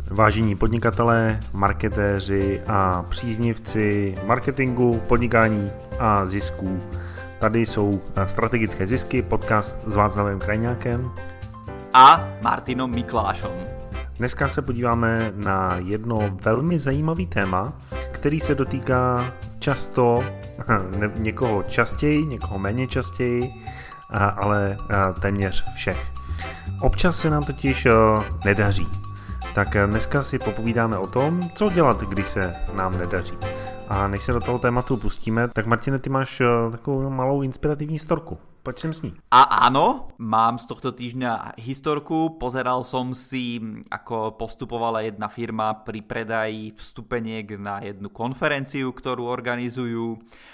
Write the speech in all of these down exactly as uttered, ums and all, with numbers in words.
Vážení podnikatelé, marketéři a příznivci marketingu, podnikání a zisků. Tady jsou Strategické zisky, podcast s Václavem Krajňákem a Martinom Miklášom. Dneska se podíváme na jedno velmi zajímavý téma, který se dotýká často, ne, někoho častěji, někoho méně častěji, ale téměř všech. Občas se nám totiž nedaří. Tak dneska si popovídáme o tom, co dělat, když se nám nedaří. A než se do toho tématu pustíme, tak Martine, ty máš takovou malou inspirativní storku. Poď sem s ní. A áno, mám z tohto týždňa historku. Pozeral som si, ako postupovala jedna firma pri predaji vstupeniek na jednu konferenciu, ktorú organizujú.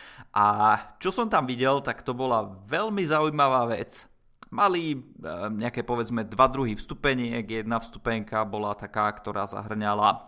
A čo som tam videl, tak to bola veľmi zaujímavá vec. Mali nejaké, povedzme, dva druhy vstupeniek. Jedna vstupenka bola taká, ktorá zahrňala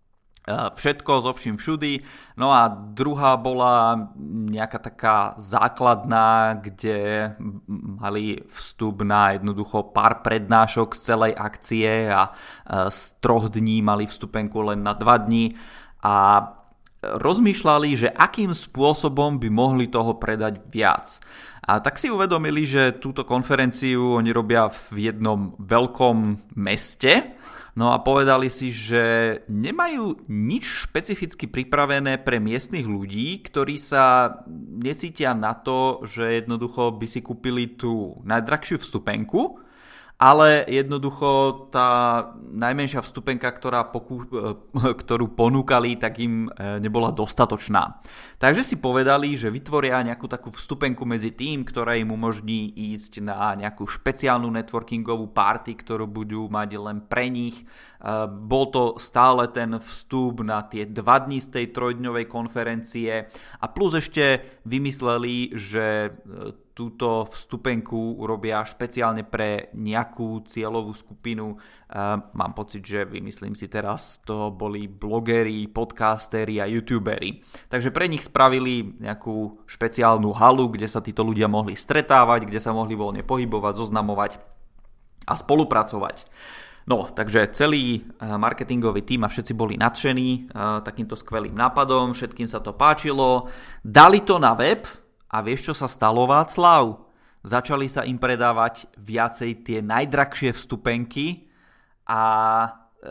všetko zo vším všudy. No a druhá bola nejaká taká základná, kde mali vstup na jednoducho pár prednášok z celej akcie a z troch dní mali vstupenku len na dva dní. A rozmýšľali, že akým spôsobom by mohli toho predať viac. A tak si uvedomili, že túto konferenciu oni robia v jednom veľkom meste, no a povedali si, že nemajú nič špecificky pripravené pre miestnych ľudí, ktorí sa necítia na to, že jednoducho by si kúpili tú najdrahšiu vstupenku, ale jednoducho tá najmenšia vstupenka, ktorá pokú, ktorú ponúkali, tak im nebola dostatočná. Takže si povedali, že vytvoria nejakú takú vstupenku medzi tým, ktorá im umožní ísť na nejakú špeciálnu networkingovú party, ktorú budú mať len pre nich. Bol to stále ten vstup na tie dva dni z tej trojdňovej konferencie a plus ešte vymysleli, že túto vstupenku urobia špeciálne pre nejakú cieľovú skupinu. Mám pocit, že vymyslím si teraz, to boli blogeri, podcasteri a youtuberi. Takže pre nich spravili nejakú špeciálnu halu, kde sa títo ľudia mohli stretávať, kde sa mohli voľne pohybovať, zoznamovať a spolupracovať. No, takže celý marketingový tím a všetci boli nadšení takýmto skvelým nápadom, všetkým sa to páčilo. Dali to na web. A vieš, čo sa stalo, Václav? Začali sa im predávať viacej tie najdrahšie vstupenky a e,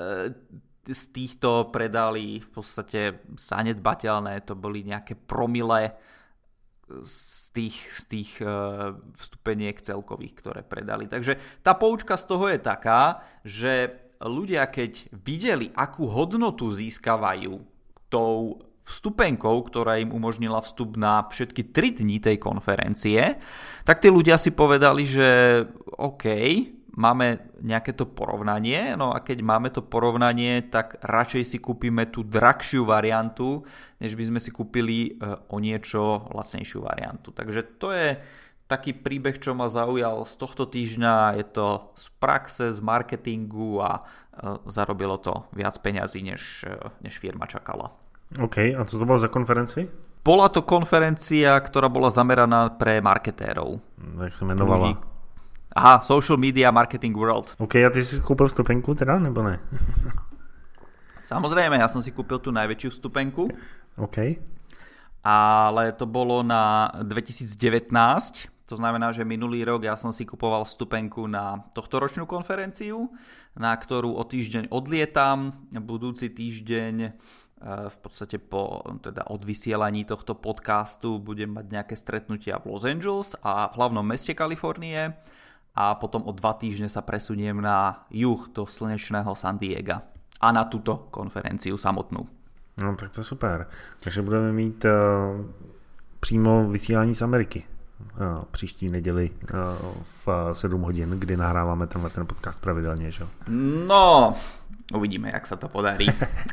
z týchto predali v podstate zanedbateľné, to boli nejaké promile z tých, z tých e, vstupeniek celkových, ktoré predali. Takže tá poučka z toho je taká, že ľudia, keď videli, akú hodnotu získavajú tou vstupenkou, ktorá im umožnila vstup na všetky tri dni tej konferencie, tak tí ľudia si povedali, že OK, máme nejaké to porovnanie, no a keď máme to porovnanie, tak radšej si kúpime tú drahšiu variantu, než by sme si kúpili o niečo lacnejšiu variantu. Takže to je taký príbeh, čo ma zaujal z tohto týždňa, je to z praxe, z marketingu a zarobilo to viac peňazí, než, než firma čakala. OK, a co to bolo za konferenci? Bola to konferencia, ktorá bola zameraná pre marketérov. Jak sa menovala? Aha, Social Media Marketing World. OK, a ty si kúpil vstupenku teda, nebo ne? Samozrejme, ja som si kúpil tú najväčšiu vstupenku. OK. Ale to bolo na dvetisícdevätnásť, to znamená, že minulý rok ja som si kupoval vstupenku na tohtoročnú konferenciu, na ktorú o týždeň odlietam. Budúci týždeň v podstate po teda odvysielaní tohto podcastu budem mať nejaké stretnutia v Los Angeles a v hlavnom meste Kalifornie a potom o dva týždne sa presuniem na juh do slnečného San Diega a na túto konferenciu samotnú. No tak to je super. Takže budeme mít uh, přímo vysílání z Ameriky uh, příští neděli uh, v sedm hodin, kdy nahráváme tenhle ten podcast pravidelně, že? No, uvidíme, jak se to podarí.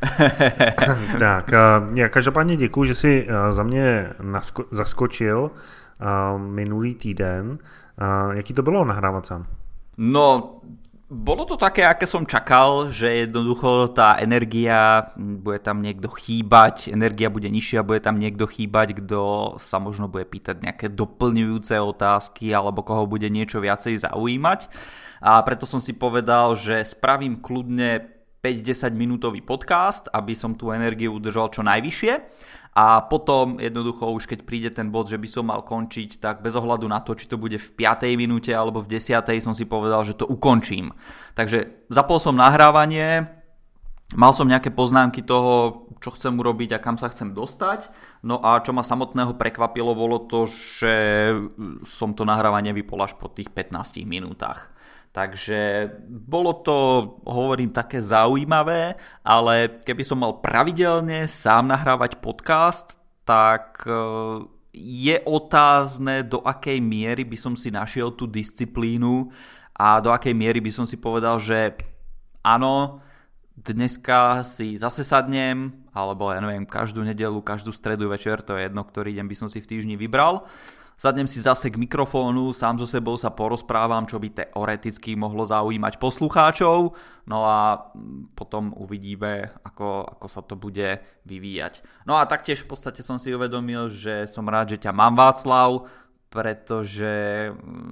Tak, já každopádně děkuju, že jsi za mě nasko- zaskočil minulý týden. Jaký to bylo nahrávat sám? No, bolo to také, aké som čakal, že jednoducho tá energia, bude tam niekto chýbať, energia bude nižšia, bude tam niekto chýbať, kto sa možno bude pýtať nejaké doplňujúce otázky alebo koho bude niečo viacej zaujímať. A preto som si povedal, že spravím kľudne päť až desať minútový podcast, aby som tú energiu udržal čo najvyššie. A potom jednoducho už keď príde ten bod, že by som mal končiť, tak bez ohľadu na to, či to bude v piatej minúte alebo v desiatej, som si povedal, že to ukončím. Takže zapol som nahrávanie, mal som nejaké poznámky toho, čo chcem urobiť a kam sa chcem dostať. No a čo ma samotného prekvapilo, bolo to, že som to nahrávanie vypol až po tých pätnástich minútach. Takže bolo to, hovorím, také zaujímavé, ale keby som mal pravidelne sám nahrávať podcast, tak je otázne, do akej miery by som si našiel tú disciplínu a do akej miery by som si povedal, že áno, dneska si zase sadnem, alebo ja neviem, každú nedeľu, každú stredu večer, to je jedno, ktorý deň by som si v týždni vybral. Sadnem si zase k mikrofónu, sám so sebou sa porozprávam, čo by teoreticky mohlo zaujímať poslucháčov, no a potom uvidíme, ako, ako sa to bude vyvíjať. No a taktiež v podstate som si uvedomil, že som rád, že ťa mám, Václav, pretože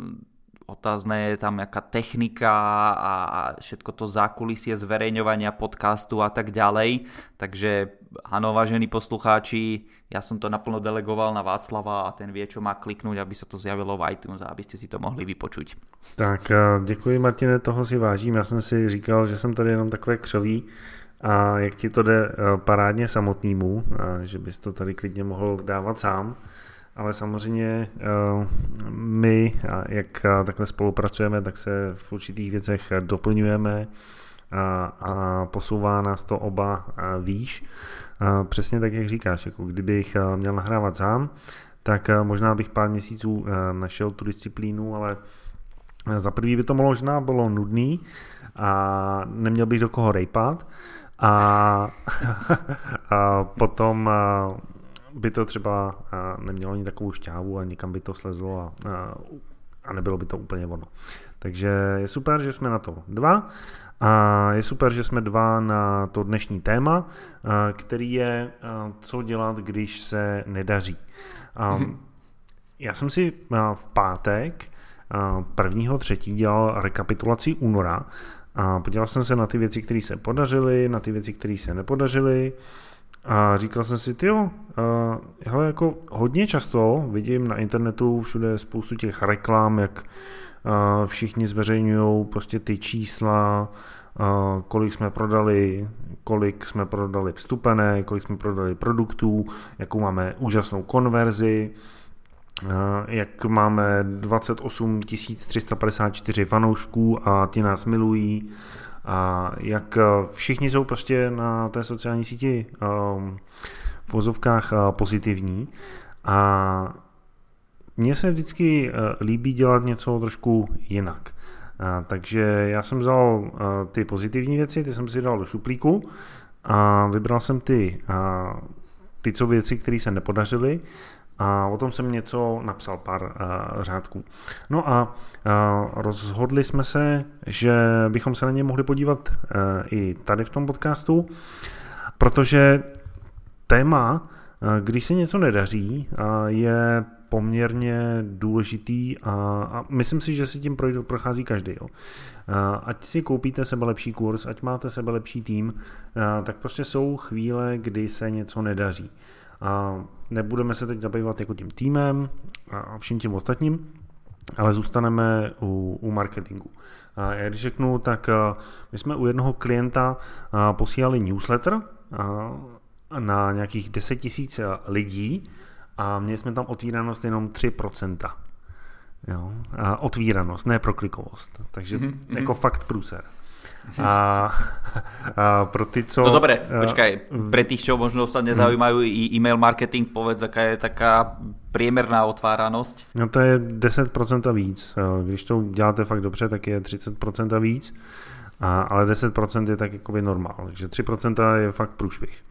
otázne je tam nejaká technika a všetko to zákulisie zverejňovania podcastu a tak ďalej. Takže áno, vážení poslucháči, ja som to naplno delegoval na Václava a ten vie, čo má kliknúť, aby sa to zjavilo v iTunes a aby ste si to mohli vypočuť. Tak děkuji, Martine, toho si vážím. Já jsem si říkal, že jsem tady jenom takové křoví a jak ti to jde parádně samotnému, že bys to tady klidně mohl dávat sám. Ale samozřejmě my, jak takhle spolupracujeme, tak se v určitých věcech doplňujeme a, a posouvá nás to oba výš. Přesně tak, jak říkáš, jako kdybych měl nahrávat sám, tak možná bych pár měsíců našel tu disciplínu, ale za prvý by to možná bylo nudný a neměl bych do koho rejpat a, a potom by to třeba nemělo ani takovou šťávu a někam by to slezlo a, a nebylo by to úplně ono. Takže je super, že jsme na to dva a je super, že jsme dva na to dnešní téma, který je co dělat, když se nedaří. Mm-hmm. Já jsem si v pátek prvního třetí dělal rekapitulaci února a podíval jsem se na ty věci, které se podařily, na ty věci, které se nepodařily. A říkal jsem si, tyjo, uh, hele, jako hodně často vidím na internetu všude spoustu těch reklam, jak uh, všichni zveřejňují prostě ty čísla, uh, kolik jsme prodali, kolik jsme prodali vstupené, kolik jsme prodali produktů, jakou máme úžasnou konverzi, uh, jak máme dvacet osm tisíc tři sta padesát čtyři fanoušků a ti nás milují. A jak všichni jsou prostě na té sociální síti um, v vozovkách uh, pozitivní a mně se vždycky uh, líbí dělat něco trošku jinak. Uh, takže já jsem vzal uh, ty pozitivní věci, ty jsem si dal do šuplíku a vybral jsem ty, uh, ty co věci, které se nepodařily. A o tom jsem něco napsal, pár uh, řádků. No a uh, rozhodli jsme se, že bychom se na ně mohli podívat uh, i tady v tom podcastu, protože téma, uh, když se něco nedaří, uh, je poměrně důležitý a, a myslím si, že si tím projde, prochází každý. Jo. Uh, ať si koupíte sebelepší kurz, ať máte sebelepší tým, uh, tak prostě jsou chvíle, kdy se něco nedaří. A nebudeme se teď zabývat jako tím týmem a vším tím ostatním, ale zůstaneme u, u marketingu. A já když řeknu, tak my jsme u jednoho klienta posílali newsletter na nějakých deset tisíc lidí a měli jsme tam otvíranost jenom tři procenta. Jo? A otvíranost, ne proklikovost. Takže mm-hmm. jako fakt průser. A, a pro ty, co... No dobre, počkaj, pre tých, čo možno sa nezaujímajú i e-mail marketing, povedz, aká je taká priemerná otváranosť. No to je deset procent a víc. Když to děláte fakt dobře, tak je třicet procent a víc, a, ale deset procent je tak jakoby normál, takže tři procenta je fakt průšvih.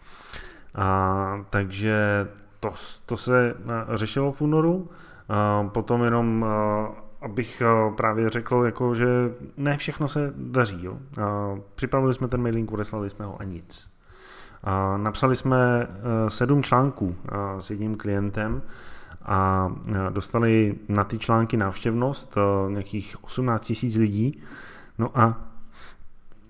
A, takže to, to se řešilo v únoru, a potom jenom... A, abych právě řekl, jako, že ne všechno se daří. Jo. Připravili jsme ten mailing, odeslali jsme ho a nic. A napsali jsme sedm článků s jedním klientem a dostali na ty články návštěvnost nějakých osmnáct tisíc lidí. No a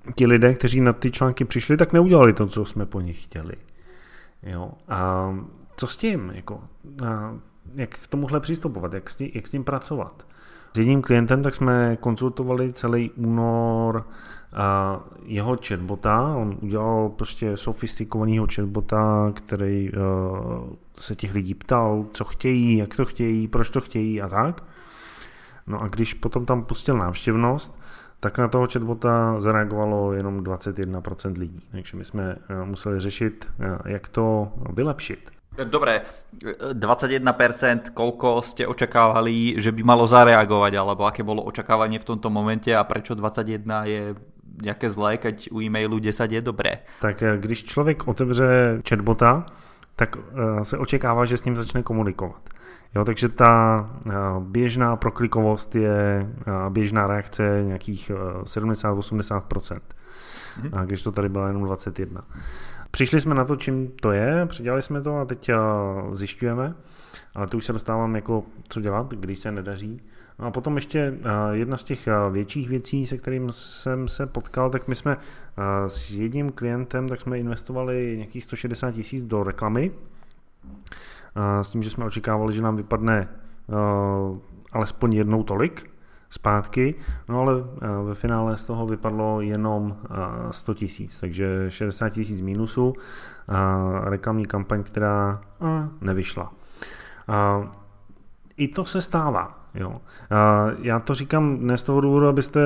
ti lidé, kteří na ty články přišli, tak neudělali to, co jsme po nich chtěli. Jo? A co s tím? Jako, a jak k tomuhle přistupovat? Jak s tím, jak s tím pracovat? S jedním klientem tak jsme konzultovali celý únor a jeho chatbota. On udělal prostě sofistikovaného chatbota, který uh, se těch lidí ptal, co chtějí, jak to chtějí, proč to chtějí a tak. No a když potom tam pustil návštěvnost, tak na toho chatbota zareagovalo jenom dvacet jedna procent lidí. Takže my jsme uh, museli řešit, uh, jak to vylepšit. Dobre, dvadsaťjeden percent, koľko ste očakávali, že by malo zareagovať, alebo aké bolo očakávanie v tomto momente a prečo dvacet jedna je nejaké zlé, keď u e-mailu desať je dobré? Tak když člověk otevře chatbota, tak se očekává, že s ním začne komunikovat. Jo, takže ta běžná proklikovost je běžná reakce nějakých sedmdesát až osmdesát procent. Hmm. A když to tady bylo jenom dvacet jedna. Přišli jsme na to, čím to je, předělali jsme to a teď zjišťujeme, ale to už se dostávám jako co dělat, když se nedaří. No a potom ještě jedna z těch větších věcí, se kterým jsem se potkal, tak my jsme s jedním klientem, tak jsme investovali nějakých sto šedesát tisíc do reklamy, s tím, že jsme očekávali, že nám vypadne alespoň jednou tolik zpátky, no ale ve finále z toho vypadlo jenom sto tisíc, takže šedesát tisíc mínusu, reklamní kampaň, která nevyšla. I to se stává. Jo. Já to říkám ne z toho důvodu, abyste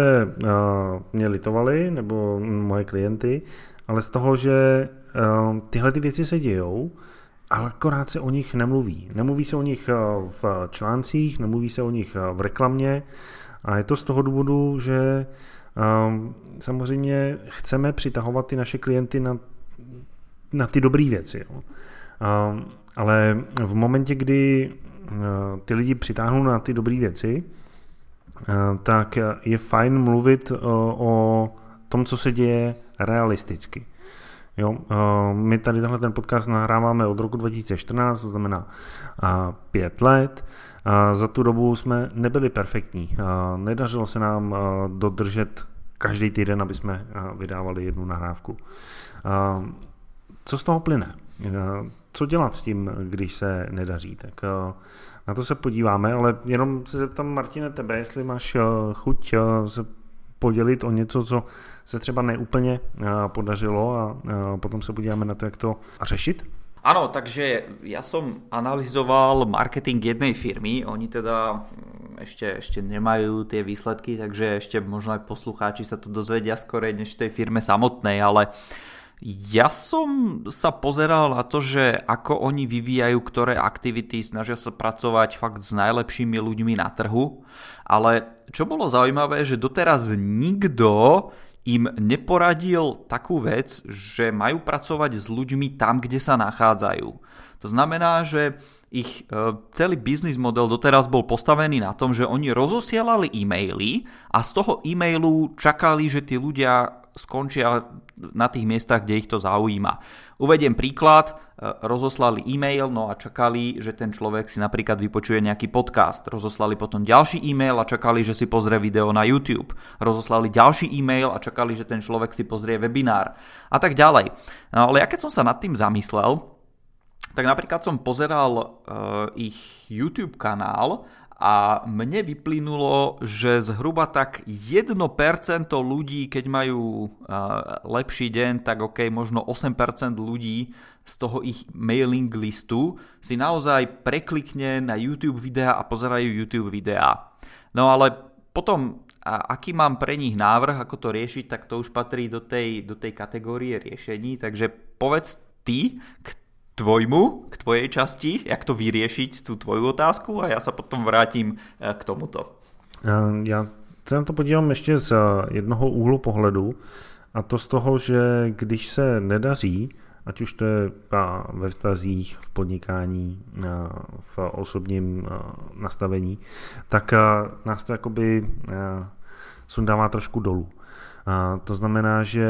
mě litovali, nebo moje klienty, ale z toho, že tyhle ty věci se dějou, ale akorát se o nich nemluví. Nemluví se o nich v článcích, nemluví se o nich v reklamě, a je to z toho důvodu, že um, samozřejmě chceme přitahovat ty naše klienty na, na ty dobré věci. Jo. Um, ale v momentě, kdy uh, ty lidi přitáhnou na ty dobré věci, uh, tak je fajn mluvit uh, o tom, co se děje realisticky. Jo, uh, my tady tenhle ten podcast nahráváme od roku dva tisíce čtrnáct, to znamená uh, pět let. Uh, za tu dobu jsme nebyli perfektní. Uh, nedařilo se nám uh, dodržet každý týden, aby jsme uh, vydávali jednu nahrávku. Uh, co z toho plyne? Uh, co dělat s tím, když se nedaří? Tak uh, na to se podíváme, ale jenom se zeptám, Martine, tebe, jestli máš uh, chuť uh, se podělit o něco, co se třeba neúplně podařilo a potom se podíváme na to, jak to řešit? Áno, takže ja som analyzoval marketing jednej firmy, oni teda ešte, ešte nemajú tie výsledky, takže ešte možno aj poslucháči sa to dozvedia skorej než tej firme samotnej, ale ja som sa pozeral na to, že ako oni vyvíjajú ktoré aktivity, snažia sa pracovať fakt s najlepšími ľuďmi na trhu, ale čo bolo zaujímavé, že doteraz nikto im neporadil takú vec, že majú pracovať s ľuďmi tam, kde sa nachádzajú. To znamená, že ich celý biznis model doteraz bol postavený na tom, že oni rozosielali e-maily a z toho e-mailu čakali, že tí ľudia skončia na tých miestach, kde ich to zaujíma. Uvediem príklad, rozoslali e-mail, no a čakali, že ten človek si napríklad vypočuje nejaký podcast. Rozoslali potom ďalší e-mail a čakali, že si pozrie video na YouTube. Rozoslali ďalší e-mail a čakali, že ten človek si pozrie webinár a tak ďalej. No, ale ja keď som sa nad tým zamyslel, tak napríklad som pozeral uh, ich YouTube kanál a mne vyplynulo, že zhruba tak jedno percento ľudí, keď majú uh, lepší deň, tak ok, možno osem percent ľudí z toho ich mailing listu si naozaj preklikne na YouTube videá a pozerajú YouTube videá. No ale potom, a aký mám pre nich návrh, ako to riešiť, tak to už patrí do tej, do tej kategórie riešení. Takže povedz ty, k tvojmu, k tvojej časti, jak to vyriešiť, tú tvoju otázku a ja sa potom vrátim k tomuto. Já se na to podívám ještě z jednoho úhlu pohledu a to z toho, že když se nedaří, ať už to je ve vztazích, v podnikání, v osobním nastavení, tak nás to jakoby sundává trošku dolů. A to znamená, že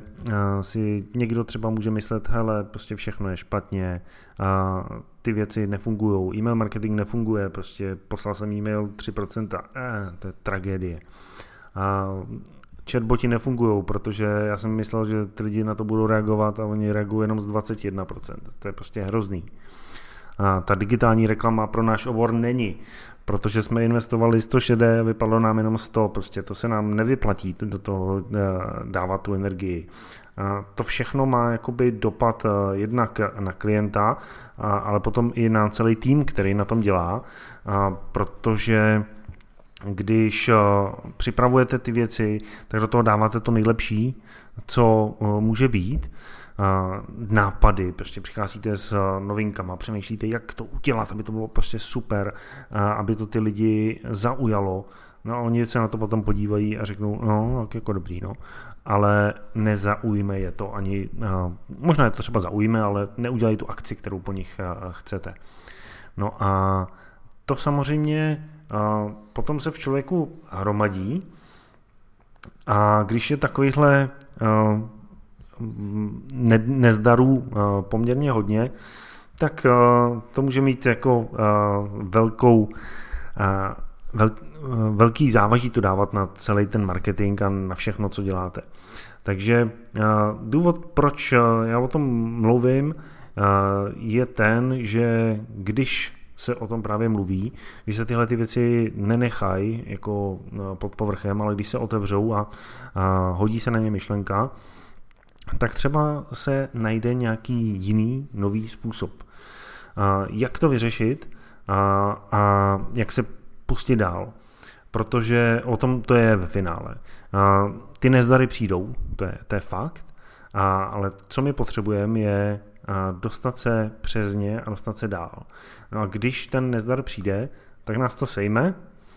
si někdo třeba může myslet, hele, prostě všechno je špatně, a ty věci nefungují, e-mail marketing nefunguje, prostě poslal jsem e-mail tři procenta, eh, to je tragédie. A chatboti nefungují, protože já jsem myslel, že ty lidi na to budou reagovat a oni reagují jenom z dvacet jedna procent. To je prostě hrozný. A ta digitální reklama pro náš obor není, protože jsme investovali sto šedé, vypadlo nám jenom sto, prostě to se nám nevyplatí do toho dávat tu energii. A to všechno má jakoby dopad jednak na klienta, ale potom i na celý tým, který na tom dělá, protože když připravujete ty věci, tak do toho dáváte to nejlepší, co může být, nápady, prostě přicházíte s novinkama, přemýšlíte, jak to udělat, aby to bylo prostě super, aby to ty lidi zaujalo. No a oni se na to potom podívají a řeknou, no, tak jako dobrý, no. Ale nezaujme je to ani, možná je to třeba zaujme, ale neudělají tu akci, kterou po nich chcete. No a to samozřejmě potom se v člověku hromadí a když je takovýchhle ne, nezdarů poměrně hodně, tak to může mít jako velkou, vel, velký závaží to dávat na celý ten marketing a na všechno, co děláte. Takže důvod, proč já o tom mluvím, je ten, že když se o tom právě mluví, když se tyhle ty věci nenechají jako pod povrchem, ale když se otevřou a, a hodí se na ně myšlenka, tak třeba se najde nějaký jiný nový způsob. A jak to vyřešit a, a jak se pustit dál. Protože o tom to je ve finále. A ty nezdary přijdou, to je, to je fakt, a, ale co my potřebujeme je dostat se přes ně a dostat se dál. No a když ten nezdar přijde, tak nás to sejme,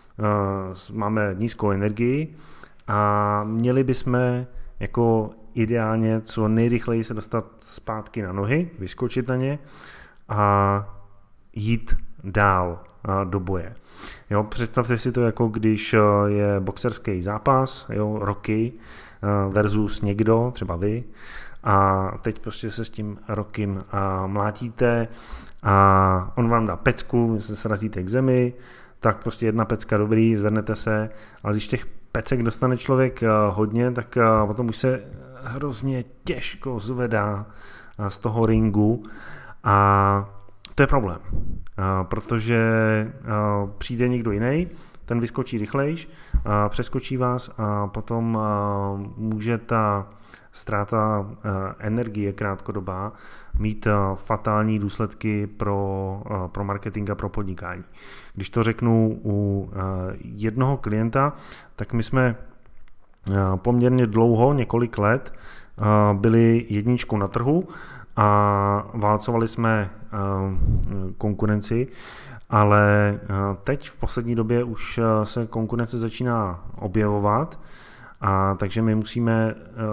máme nízkou energii a měli bychom jako ideálně co nejrychleji se dostat zpátky na nohy, vyskočit na ně a jít dál do boje. Jo, představte si to jako když je boxerský zápas, jo, Rocky versus někdo, třeba vy, a teď prostě se s tím Rockym mlátíte a on vám dá pecku, vy se srazíte k zemi, tak prostě jedna pecka dobrý, zvednete se, ale když těch pecek dostane člověk hodně, tak potom už se hrozně těžko zvedá z toho ringu a to je problém, protože přijde někdo jiný, ten vyskočí rychlejš, přeskočí vás a potom může ta ztráta energie krátkodobá mít fatální důsledky pro, pro marketing a pro podnikání. Když to řeknu u jednoho klienta, tak my jsme poměrně dlouho, několik let, byli jedničkou na trhu a válcovali jsme konkurenci, ale teď v poslední době už se konkurence začíná objevovat, a takže my musíme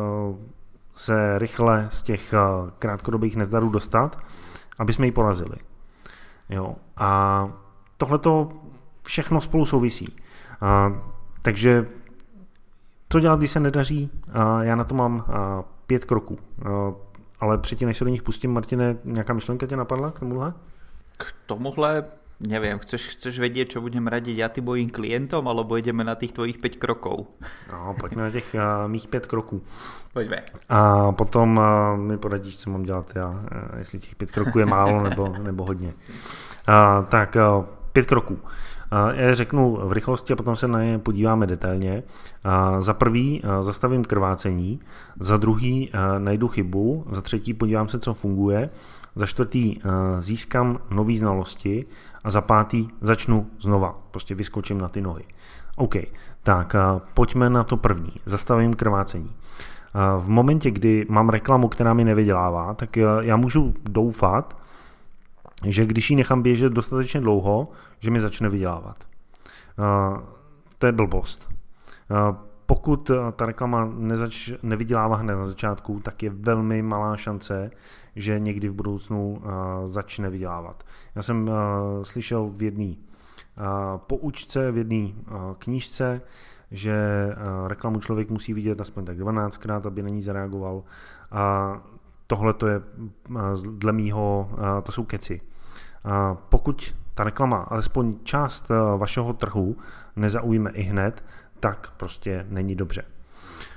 se rychle z těch krátkodobých nezdarů dostat, aby jsme ji porazili. Jo. A tohleto všechno spolu souvisí. A, takže co dělat, když se nedaří? A já na to mám a, pět kroků. A, ale předtím, než se do nich pustím, Martine, nějaká myšlenka tě napadla k tomuhle? K tomuhle neviem, chceš, chceš vedieť, čo budem radiť ja tým mojim klientom, alebo ideme na tých tvojich päť krokov? No, pojďme na těch uh, mých pět kroků. Pojďme. A potom uh, mi poradíš, co mám dělat já, uh, jestli těch pět kroků je málo nebo, nebo hodně. Uh, tak uh, pět kroků. Uh, já řeknu v rychlosti a potom se na ně podíváme detailně. Uh, za prvý uh, zastavím krvácení, za druhý uh, najdu chybu, za třetí podívám se, co funguje, za čtvrtý získám nové znalosti a za pátý začnu znova, prostě vyskočím na ty nohy. OK, tak pojďme na to první, zastavím krvácení. V momentě, kdy mám reklamu, která mi nevydělává, tak já můžu doufat, že když ji nechám běžet dostatečně dlouho, že mi začne vydělávat. To je blbost. Pokud ta reklama nezač, nevydělává hned na začátku, tak je velmi malá šance, že někdy v budoucnu uh, začne vydělávat. Já jsem uh, slyšel v jedné uh, poučce, v jedné uh, knížce, že uh, reklamu člověk musí vidět aspoň tak dvanáctkrát, aby na ní zareagoval. A tohle to je uh, dle mýho, uh, to jsou keci. Uh, pokud ta reklama, alespoň část uh, vašeho trhu nezaujme i hned, tak prostě není dobře.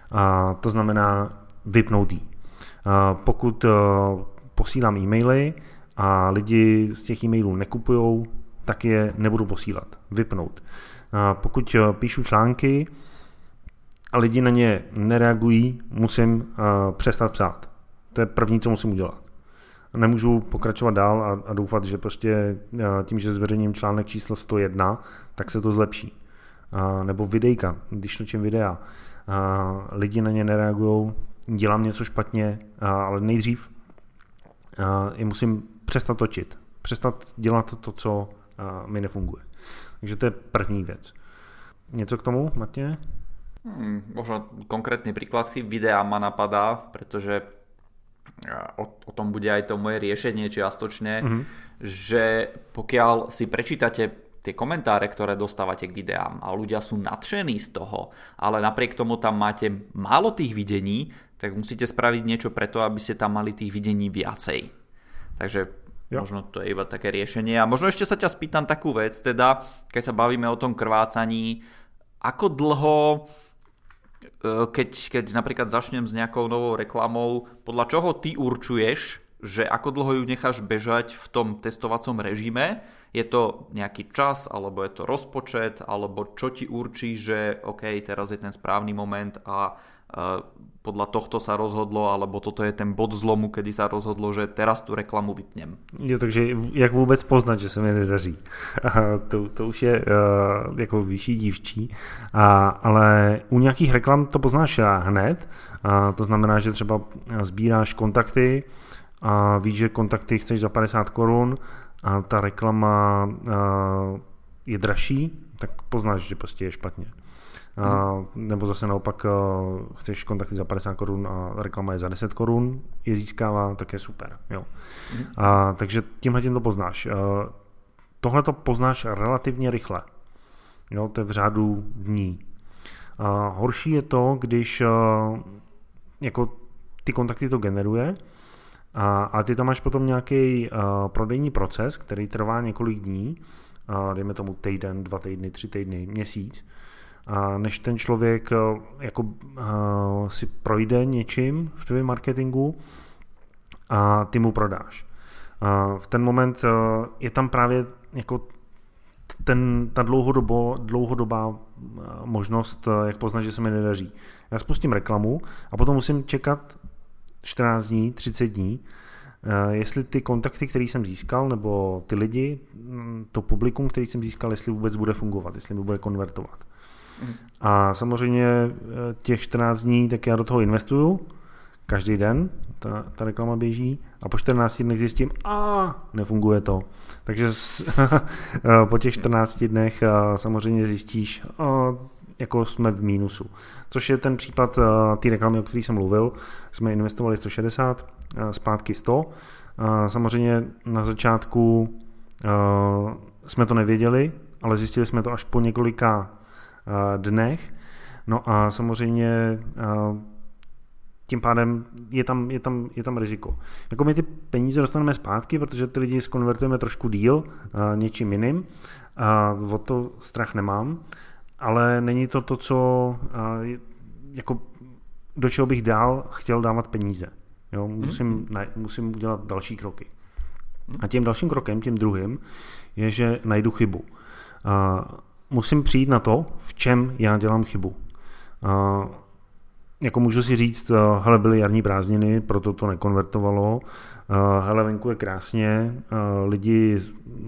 A to znamená vypnout jí. Pokud posílám e-maily a lidi z těch e-mailů nekupujou, tak je nebudu posílat. Vypnout. Pokud píšu články a lidi na ně nereagují, musím přestat psát. To je první, co musím udělat. Nemůžu pokračovat dál a, a doufat, že prostě tím, že zveřejním článek číslo sto jedna, tak se to zlepší. A, nebo videjka, když točím videa. A, lidi na ně nereagují, dělám něco špatně, a, ale nejdřív a, je musím přestat točit. Přestat dělat to, co a, mi nefunguje. Takže to je první věc. Něco k tomu, Matěj? Hmm, možno konkrétny príklad videa ma napadá, pretože o, o tom bude aj to moje riešenie čiastočne, mm-hmm. že pokiaľ si prečítate tie komentáre, ktoré dostávate k videám a ľudia sú nadšení z toho, ale napriek tomu tam máte málo tých videní, tak musíte spraviť niečo preto, aby ste tam mali tých videní viacej. Takže jo. Možno to je iba také riešenie. A možno ešte sa ťa spýtam takú vec, teda keď sa bavíme o tom krvácaní, ako dlho, keď, keď napríklad začnem s nejakou novou reklamou, podľa čoho ty určuješ, že ako dlho ju necháš bežať v tom testovacom režime? Je to nejaký čas, alebo je to rozpočet, alebo čo ti určí, že OK, teraz je ten správny moment a uh, podľa tohto sa rozhodlo, alebo toto je ten bod zlomu, kedy sa rozhodlo, že teraz tu reklamu vypnem. Jo, takže jak vůbec poznat, že se mi nedaří? to, to už je uh, jako vyšší dívčí, a, ale u nějakých reklam to poznáš hned, a to znamená, že třeba sbíráš kontakty a víš, že kontakty chceš za padesát korun a ta reklama uh, je dražší, tak poznáš, že prostě je špatně. Uh, nebo zase naopak uh, chceš kontakty za padesát korun a reklama je za deset korun, je získává, tak je super. Jo. Mm. Uh, takže tímhle tím to poznáš. Uh, Tohle to poznáš relativně rychle. Jo, to je v řádu dní. Uh, horší je to, když uh, jako ty kontakty to generuje a, a ty tam máš potom nějaký uh, prodejní proces, který trvá několik dní, uh, dejme tomu týden, dva týdny, tři týdny, měsíc, a než ten člověk jako uh, si projde něčím v tvém marketingu a ty mu prodáš. Uh, v ten moment uh, je tam právě jako ten, ta dlouhodobo, dlouhodobá uh, možnost, uh, jak poznat, že se mi nedaří. Já spustím reklamu a potom musím čekat čtrnáct dní, třicet dní, uh, jestli ty kontakty, které jsem získal, nebo ty lidi, to publikum, který jsem získal, jestli vůbec bude fungovat, jestli mi bude konvertovat. A samozřejmě těch čtrnáct dní, tak já do toho investuju, každý den ta, ta reklama běží a po čtrnácti dnech zjistím, a nefunguje to. Takže po těch čtrnácti dnech samozřejmě zjistíš, a, jako jsme v mínusu. Což je ten případ té reklamy, o které jsem mluvil. Jsme investovali sto šedesát, zpátky sto. Samozřejmě na začátku jsme to nevěděli, ale zjistili jsme to až po několika dnech. No a samozřejmě tím pádem je tam, je tam, je tam riziko. Jako my ty peníze dostaneme zpátky, protože ty lidi skonvertujeme trošku díl něčím jiným. A o to strach nemám, ale není to to, co jako do čeho bych dál chtěl dávat peníze. Jo, musím, ne, musím udělat další kroky. A tím dalším krokem, tím druhým, je, že najdu chybu. A musím přijít na to, v čem já dělám chybu. A jako můžu si říct, hele, byly jarní prázdniny, proto to nekonvertovalo, hele, venku je krásně, lidi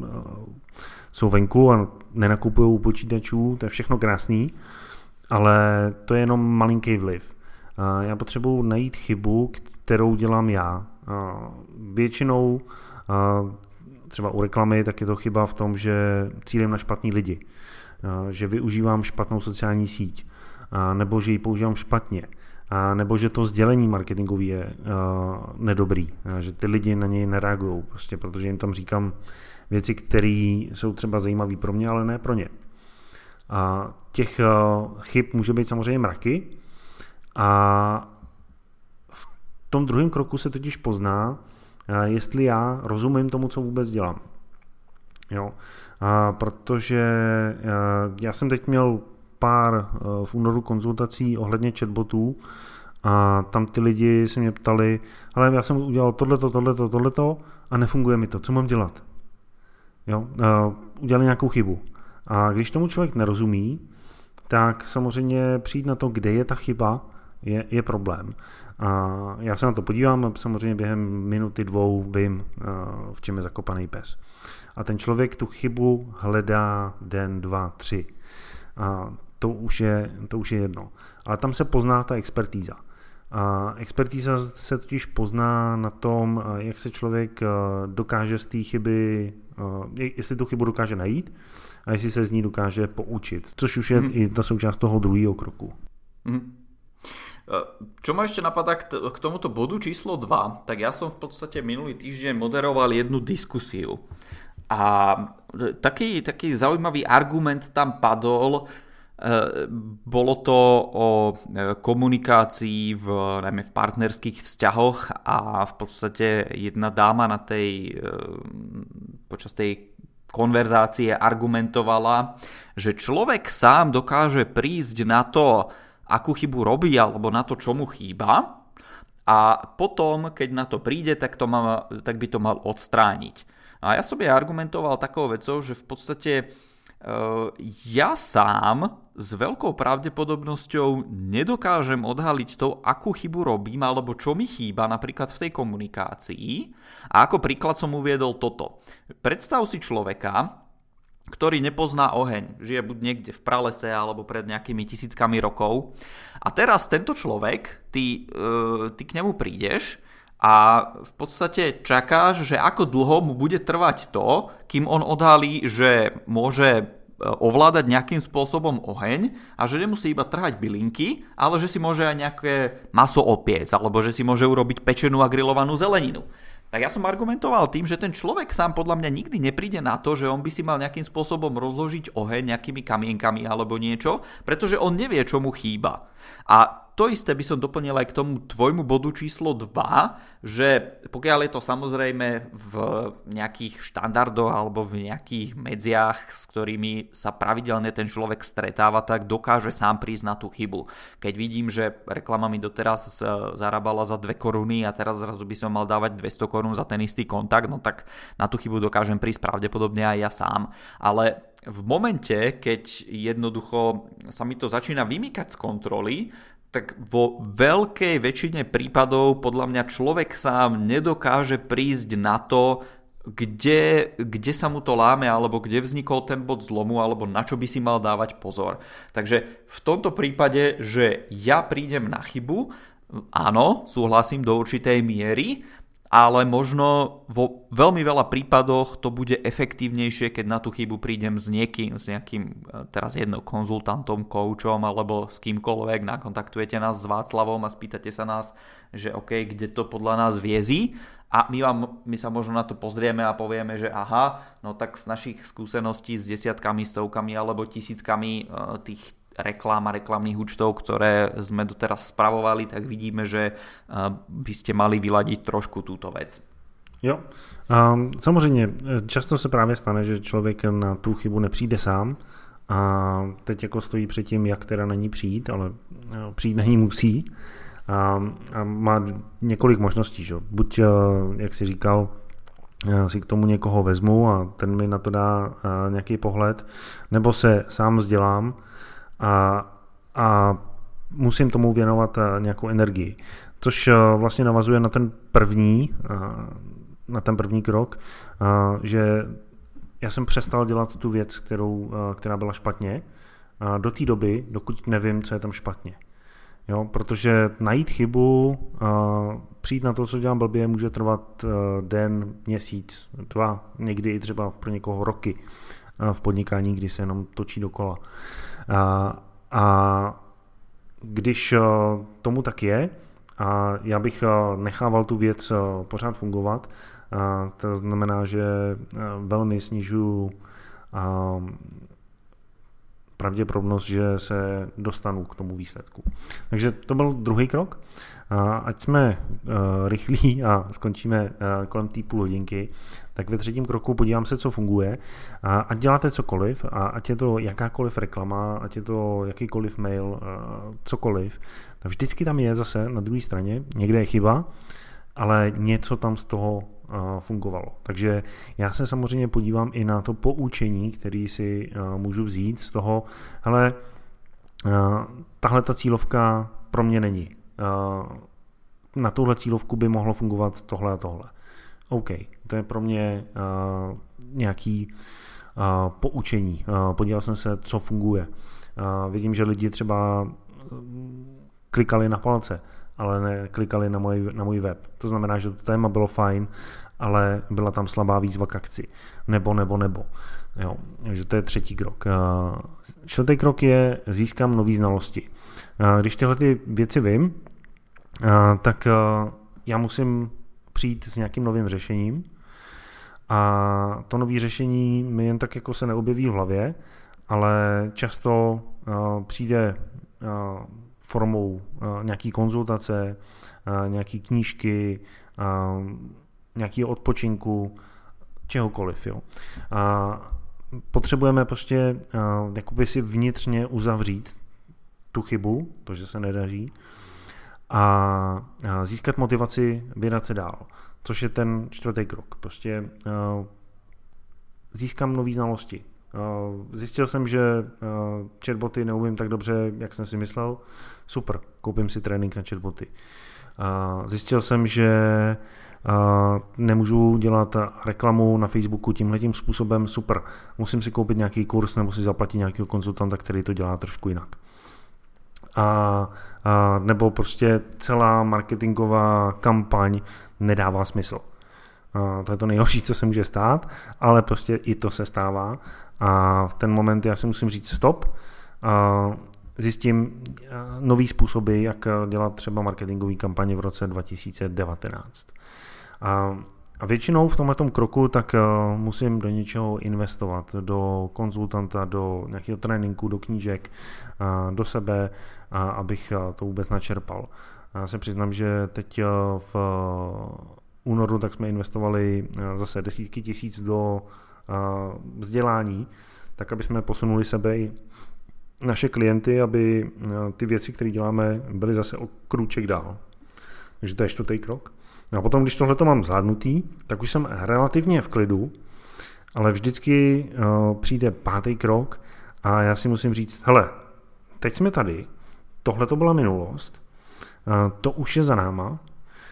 jsou venku a nenakupují u počítačů, to je všechno krásný, ale to je jenom malinký vliv. Já potřebuji najít chybu, kterou dělám já. Většinou třeba u reklamy, tak je to chyba v tom, že cílím na špatný lidi, že využívám špatnou sociální síť, nebo že ji používám špatně, nebo že to sdělení marketingové je nedobrý, že ty lidi na něj nereagují, prostě, protože jim tam říkám věci, které jsou třeba zajímavé pro mě, ale ne pro ně. A těch chyb může být samozřejmě mraky a v tom druhém kroku se totiž pozná, jestli já rozumím tomu, co vůbec dělám. Jo. A protože já jsem teď měl pár v únoru konzultací ohledně chatbotů a tam ty lidi se mě ptali, ale já jsem udělal tohleto, tohleto, tohleto a nefunguje mi to, co mám dělat? Jo? Udělali nějakou chybu. A když tomu člověk nerozumí, tak samozřejmě přijít na to, kde je ta chyba, je, je problém. A já se na to podívám a samozřejmě během minuty, dvou vím, v čem je zakopaný pes. A ten člověk tu chybu hledá den, dva, tři. A to už je, to už je jedno. Ale tam se pozná ta expertíza. A expertíza se totiž pozná na tom, jak se člověk dokáže z té chyby, jestli tu chybu dokáže najít a jestli se z ní dokáže poučit. Což už je hmm. i ta součást toho druhého kroku. Hmm. Čo ma ešte napadá k, t- k tomuto bodu číslo dva, tak ja som v podstate minulý týždeň moderoval jednu diskusiu. A taký, taký zaujímavý argument tam padol, e, bolo to o komunikácii v, najmä v partnerských vzťahoch a v podstate jedna dáma na tej, e, počas tej konverzácie argumentovala, že človek sám dokáže prísť na to, akú chybu robí alebo na to, čo mu chýba a potom, keď na to príde, tak, to má, tak by to mal odstrániť. A ja som je argumentoval takou vecou, že v podstate e, ja sám s veľkou pravdepodobnosťou nedokážem odhaliť to, akú chybu robím alebo čo mi chýba napríklad v tej komunikácii. A ako príklad som uviedol toto. Predstav si človeka, ktorý nepozná oheň, žije buď niekde v pralese alebo pred nejakými tisíckami rokov. A teraz tento človek, ty, uh, ty k nemu prídeš a v podstate čakáš, že ako dlho mu bude trvať to, kým on odhalí, že môže ovládať nejakým spôsobom oheň a že nemusí iba trhať bylinky, ale že si môže aj nejaké maso opiec alebo že si môže urobiť pečenú a grillovanú zeleninu. Tak ja som argumentoval tým, že ten človek sám podľa mňa nikdy nepríde na to, že on by si mal nejakým spôsobom rozložiť oheň nejakými kamienkami alebo niečo, pretože on nevie, čo mu chýba. A to isté by som doplnil aj k tomu tvojmu bodu číslo dva, že pokiaľ je to samozrejme v nejakých štandardoch alebo v nejakých medziach, s ktorými sa pravidelne ten človek stretáva, tak dokáže sám prísť na tú chybu. Keď vidím, že reklama mi doteraz zarábala za dve koruny a teraz zrazu by som mal dávať dvesto korún za ten istý kontakt, no tak na tú chybu dokážem prísť pravdepodobne aj ja sám. Ale v momente, keď jednoducho sa mi to začína vymýkať z kontroly, tak vo veľkej väčšine prípadov podľa mňa človek sám nedokáže prísť na to, kde, kde sa mu to láme, alebo kde vznikol ten bod zlomu, alebo na čo by si mal dávať pozor. Takže v tomto prípade, že ja prídem na chybu, áno, súhlasím do určitej miery, ale možno vo veľmi veľa prípadoch to bude efektívnejšie, keď na tú chybu prídem s niekým, s nejakým teraz jedno konzultantom, koučom alebo s kýmkoľvek, nakontaktujete nás s Václavom a spýtate sa nás, že OK, kde to podľa nás viezí a my, vám, my sa možno na to pozrieme a povieme, že aha, no tak z našich skúseností s desiatkami, stovkami alebo tisíckami tých reklám a reklamných účtov, ktoré sme doteraz spravovali, tak vidíme, že by ste mali vyladiť trošku túto vec. Jo, um, samozřejmě často se právě stane, že člověk na tu chybu nepřijde sám a teď jako stojí před tím, jak teda na ní přijít, ale přijít na ní musí a, a má několik možností, že? Buď, jak si říkal, si k tomu někoho vezmu a ten mi na to dá nějaký pohled, nebo se sám vzdělám A, a musím tomu věnovat nějakou energii. Což vlastně navazuje na ten první, na ten první krok, že já jsem přestal dělat tu věc, kterou, která byla špatně, do té doby, dokud nevím, co je tam špatně. Jo, protože najít chybu, přijít na to, co dělám blbě, může trvat den, měsíc, dva, někdy i třeba pro někoho roky v podnikání, kdy se jenom točí dokola. A, a když tomu tak je a já bych nechával tu věc pořád fungovat, to znamená, že velmi snižuju pravděpodobnost, že se dostanu k tomu výsledku. Takže to byl druhý krok. Ať jsme rychlí a skončíme kolem té půl hodinky, tak ve třetím kroku podívám se, co funguje. Ať děláte cokoliv, a ať je to jakákoliv reklama, ať je to jakýkoliv mail, cokoliv, tak vždycky tam je zase na druhé straně, někde je chyba, ale něco tam z toho fungovalo. Takže já se samozřejmě podívám i na to poučení, který si můžu vzít z toho, hele, tahle ta cílovka pro mě není. Na tuhle cílovku by mohlo fungovat tohle a tohle. OK, to je pro mě uh, nějaký uh, poučení. Uh, podíval jsem se, co funguje. Uh, vidím, že lidi třeba klikali na palce, ale ne klikali na můj, na můj web. To znamená, že to téma bylo fajn, ale byla tam slabá výzva k akci. Nebo, nebo, nebo. Jo, takže to je třetí krok. Uh, čtvrtý krok je získám nové znalosti. Uh, když tyhle ty věci vím, uh, tak uh, já musím přijít s nějakým novým řešením a to nové řešení mi jen tak jako se neobjeví v hlavě, ale často uh, přijde uh, formou uh, nějaký konzultace, uh, nějaký knížky, uh, nějaký odpočinku, čehokoliv. Jo. Uh, potřebujeme prostě uh, jakoby si vnitřně uzavřít tu chybu, to, že se nedaří, a získat motivaci vydat se dál, což je ten čtvrtý krok. Prostě uh, získám nové znalosti. Uh, zjistil jsem, že uh, chatboty neumím tak dobře, jak jsem si myslel. Super, koupím si trénink na chatboty. Uh, zjistil jsem, že uh, nemůžu dělat reklamu na Facebooku tímhletím způsobem. Super, musím si koupit nějaký kurz nebo si zaplatit nějakého konzultanta, který to dělá trošku jinak. A, a nebo prostě celá marketingová kampaň nedává smysl. A to je to nejhorší, co se může stát, ale prostě i to se stává a v ten moment já si musím říct stop, a zjistím nový způsoby, jak dělat třeba marketingové kampaně v roce dva tisíce devatenáct. A A většinou v tomhletom kroku tak uh, musím do něčeho investovat, do konzultanta, do nějakého tréninku, do knížek, uh, do sebe, uh, abych uh, to vůbec načerpal. Já se přiznám, že teď uh, v uh, únoru tak jsme investovali uh, zase desítky tisíc do uh, vzdělání, tak aby jsme posunuli sebe i naše klienty, aby uh, ty věci, které děláme, byly zase o krůček dál. Takže to je čtvrtý krok. No a potom, když tohleto mám zvládnutý, tak už jsem relativně v klidu, ale vždycky uh, přijde pátý krok a já si musím říct, hele, teď jsme tady, tohleto byla minulost, uh, to už je za náma, uh,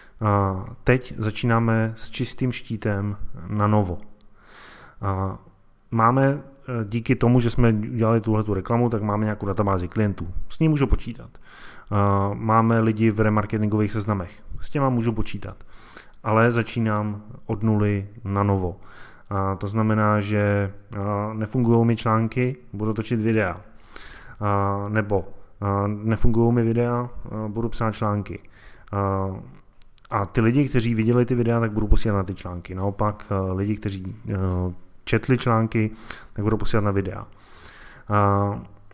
teď začínáme s čistým štítem na novo. Uh, máme, uh, díky tomu, že jsme udělali tuhletu reklamu, tak máme nějakou databázi klientů, s ní můžu počítat. Uh, máme lidi v remarketingových seznamech, s těma můžu počítat, ale začínám od nuly na novo. Uh, to znamená, že uh, nefungují mi články, budu točit videa, uh, nebo uh, nefungují mi videa, uh, budu psát články. Uh, a ty lidi, kteří viděli ty videa, tak budu posílat na ty články. Naopak uh, lidi, kteří uh, četli články, tak budu posílat na videa. Uh,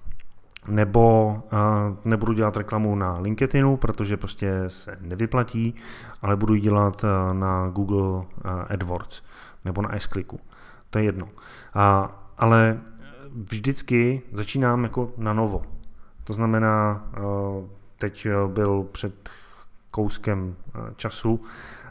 nebo uh, nebudu dělat reklamu na LinkedInu, protože prostě se nevyplatí, ale budu ji dělat uh, na Google uh, AdWords nebo na S-Clicku. To je jedno. Uh, ale vždycky začínám jako na novo. To znamená, uh, teď byl před kouskem uh, času uh,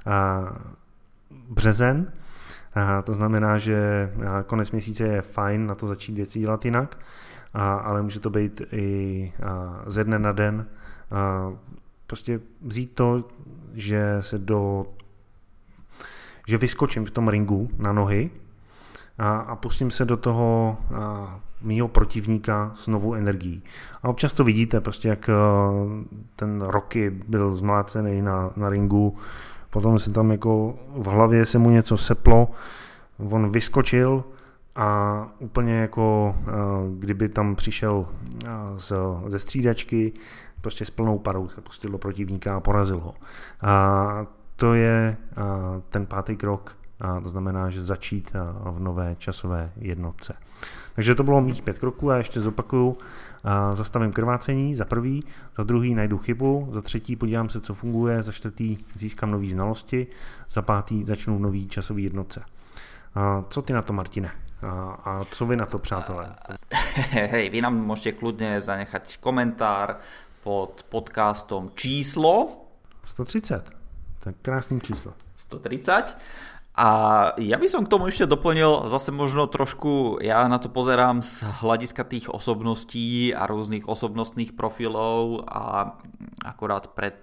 březen, uh, to znamená, že uh, konec měsíce je fajn na to začít věci dělat jinak, A, ale může to být i a, ze dne na den. A, prostě vzít to, že se do že vyskočím v tom ringu na nohy a, a pustím se do toho a, mýho protivníka s novou energií. A občas to vidíte, prostě jak a, ten Rocky byl zmlácený na, na ringu, potom se tam jako v hlavě se mu něco seplo, on vyskočil a úplně jako kdyby tam přišel z, ze střídačky, prostě s plnou parou se pustil do protivníka a porazil ho. A to je ten pátý krok a to znamená, že začít v nové časové jednotce. Takže to bylo mých pět kroků a ještě zopakuju. Zastavím krvácení za prvý, za druhý najdu chybu, za třetí podívám se, co funguje, za čtvrtý získám nové znalosti, za pátý začnu v nový časový jednotce. Co ty na to, Martine? A co vy na to, přátelé? Hej, vy nám môžete kľudne zanechať komentár pod podcastom číslo sto třicet. Tak krásný číslo. sto tridsať. A ja by som k tomu ešte doplnil zase možno trošku, ja na to pozerám z hľadiska tých osobností a rôznych osobnostných profilov a akorát pred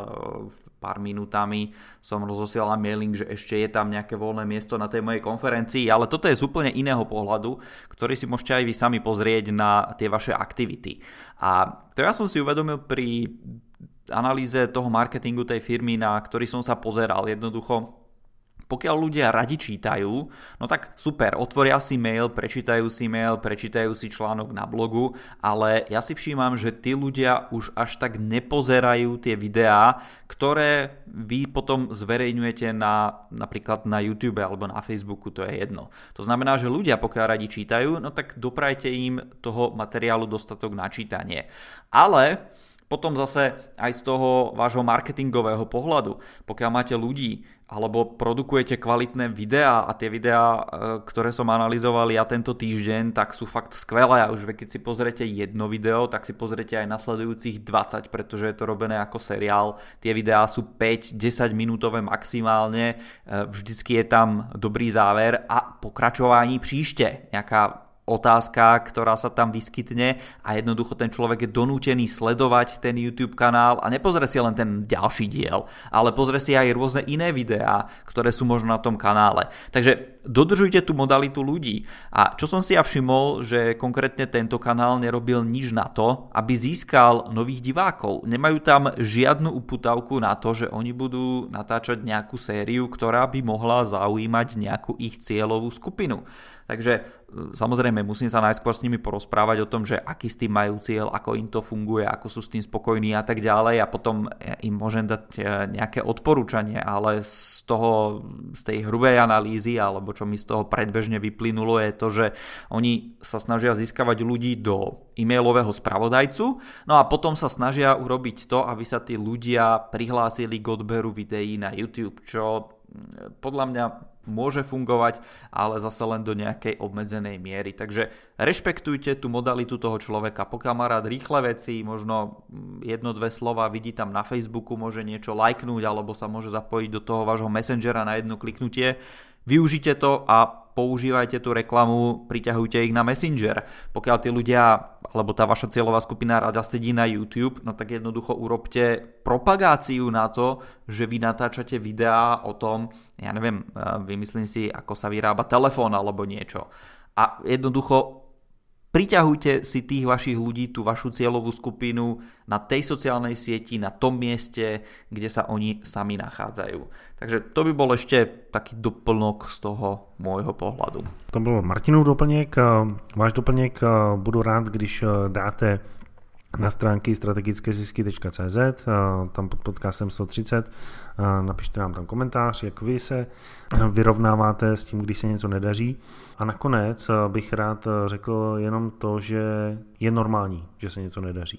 pár minútami som rozosielal mailing, že ešte je tam nejaké voľné miesto na tej mojej konferencii, ale toto je z úplne iného pohľadu, ktorý si môžete aj vy sami pozrieť na tie vaše aktivity. A to ja som si uvedomil pri analýze toho marketingu tej firmy, na ktorý som sa pozeral. Jednoducho, pokiaľ ľudia radi čítajú, no tak super, otvoria si mail, prečítajú si mail, prečítajú si článok na blogu, ale ja si všímam, že tí ľudia už až tak nepozerajú tie videá, ktoré vy potom zverejňujete na, napríklad na YouTube alebo na Facebooku, to je jedno. To znamená, že ľudia, pokiaľ radi čítajú, no tak doprajte im toho materiálu dostatok na čítanie. Ale potom zase aj z toho vášho marketingového pohľadu, pokiaľ máte ľudí alebo produkujete kvalitné videá a tie videá, ktoré som analyzoval ja tento týždeň, tak sú fakt skvelé a už keď si pozriete jedno video, tak si pozriete aj nasledujúcich dvadsať, pretože je to robené ako seriál. Tie videá sú päť desať minútové maximálne, vždycky je tam dobrý záver a pokračování příště, nejaká otázka, ktorá sa tam vyskytne a jednoducho ten človek je donútený sledovať ten YouTube kanál a nepozrie si len ten ďalší diel, ale pozrie si aj rôzne iné videá, ktoré sú možno na tom kanále. Takže dodržujte tú modalitu ľudí. A čo som si ja všimol, že konkrétne tento kanál nerobil nič na to, aby získal nových divákov. Nemajú tam žiadnu uputavku na to, že oni budú natáčať nejakú sériu, ktorá by mohla zaujímať nejakú ich cieľovú skupinu. Takže samozrejme musím sa najskôr s nimi porozprávať o tom, že aký s tým majú cieľ, ako im to funguje, ako sú s tým spokojní a tak ďalej a potom im môžem dať nejaké odporúčanie, ale z toho, z tej hrubej analýzy alebo čo mi z toho predbežne vyplynulo je to, že oni sa snažia získavať ľudí do e-mailového spravodajcu, no a potom sa snažia urobiť to, aby sa tí ľudia prihlásili k odberu videí na YouTube, čo podľa mňa môže fungovať, ale zase len do nejakej obmedzenej miery. Takže rešpektujte tú modalitu toho človeka. Pokiaľ má rád rýchle veci, možno jedno, dve slova vidí tam na Facebooku, môže niečo lajknúť alebo sa môže zapojiť do toho vášho messengera na jedno kliknutie. Využite to a používajte tú reklamu, priťahujte ich na Messenger. Pokiaľ tí ľudia, alebo tá vaša cieľová skupina rada sedí na YouTube, no tak jednoducho urobte propagáciu na to, že vy natáčate videá o tom, ja neviem, vymyslím si, ako sa vyrába telefón alebo niečo. A jednoducho priťahujte si tých vašich ľudí, tú vašu cieľovú skupinu na tej sociálnej sieti, na tom mieste, kde sa oni sami nachádzajú. Takže to by bol ešte taký doplnok z toho môjho pohľadu. To byl Martinův doplněk. Váš doplněk budu rád, když dáte na stránky strategické zisky tečka cé zet, tam pod podcastem sto třicet, napište nám tam komentář, jak vy se vyrovnáváte s tím, když se něco nedaří. A nakonec bych rád řekl jenom to, že je normální, že se něco nedaří.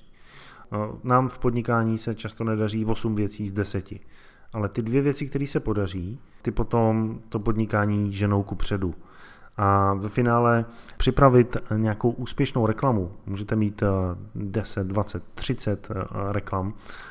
Nám v podnikání se často nedaří osm věcí z deseti, ale ty dvě věci, které se podaří, ty potom to podnikání ženou kupředu. A ve finále připravit nějakou úspěšnou reklamu. Můžete mít deset, dvacet, třicet reklam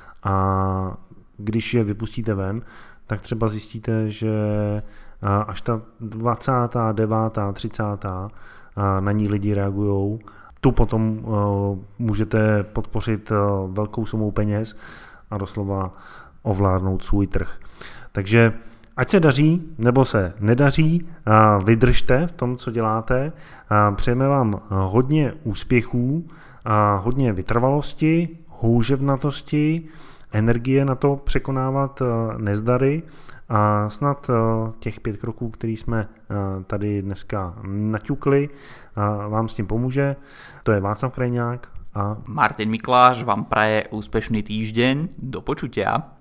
a když je vypustíte ven, tak třeba zjistíte, že až ta dvacátá devátá, třicátá na ní lidi reagujou. Tu potom můžete podpořit velkou sumou peněz a doslova ovládnout svůj trh. Takže ať se daří, nebo se nedaří, vydržte v tom, co děláte. Přejeme vám hodně úspěchů, hodně vytrvalosti, houževnatosti, energie na to překonávat nezdary a snad těch pět kroků, které jsme tady dneska naťukli, vám s tím pomůže. To je Václav Krajňák a Martin Mikláš vám praje úspešný týždeň. Do počutia.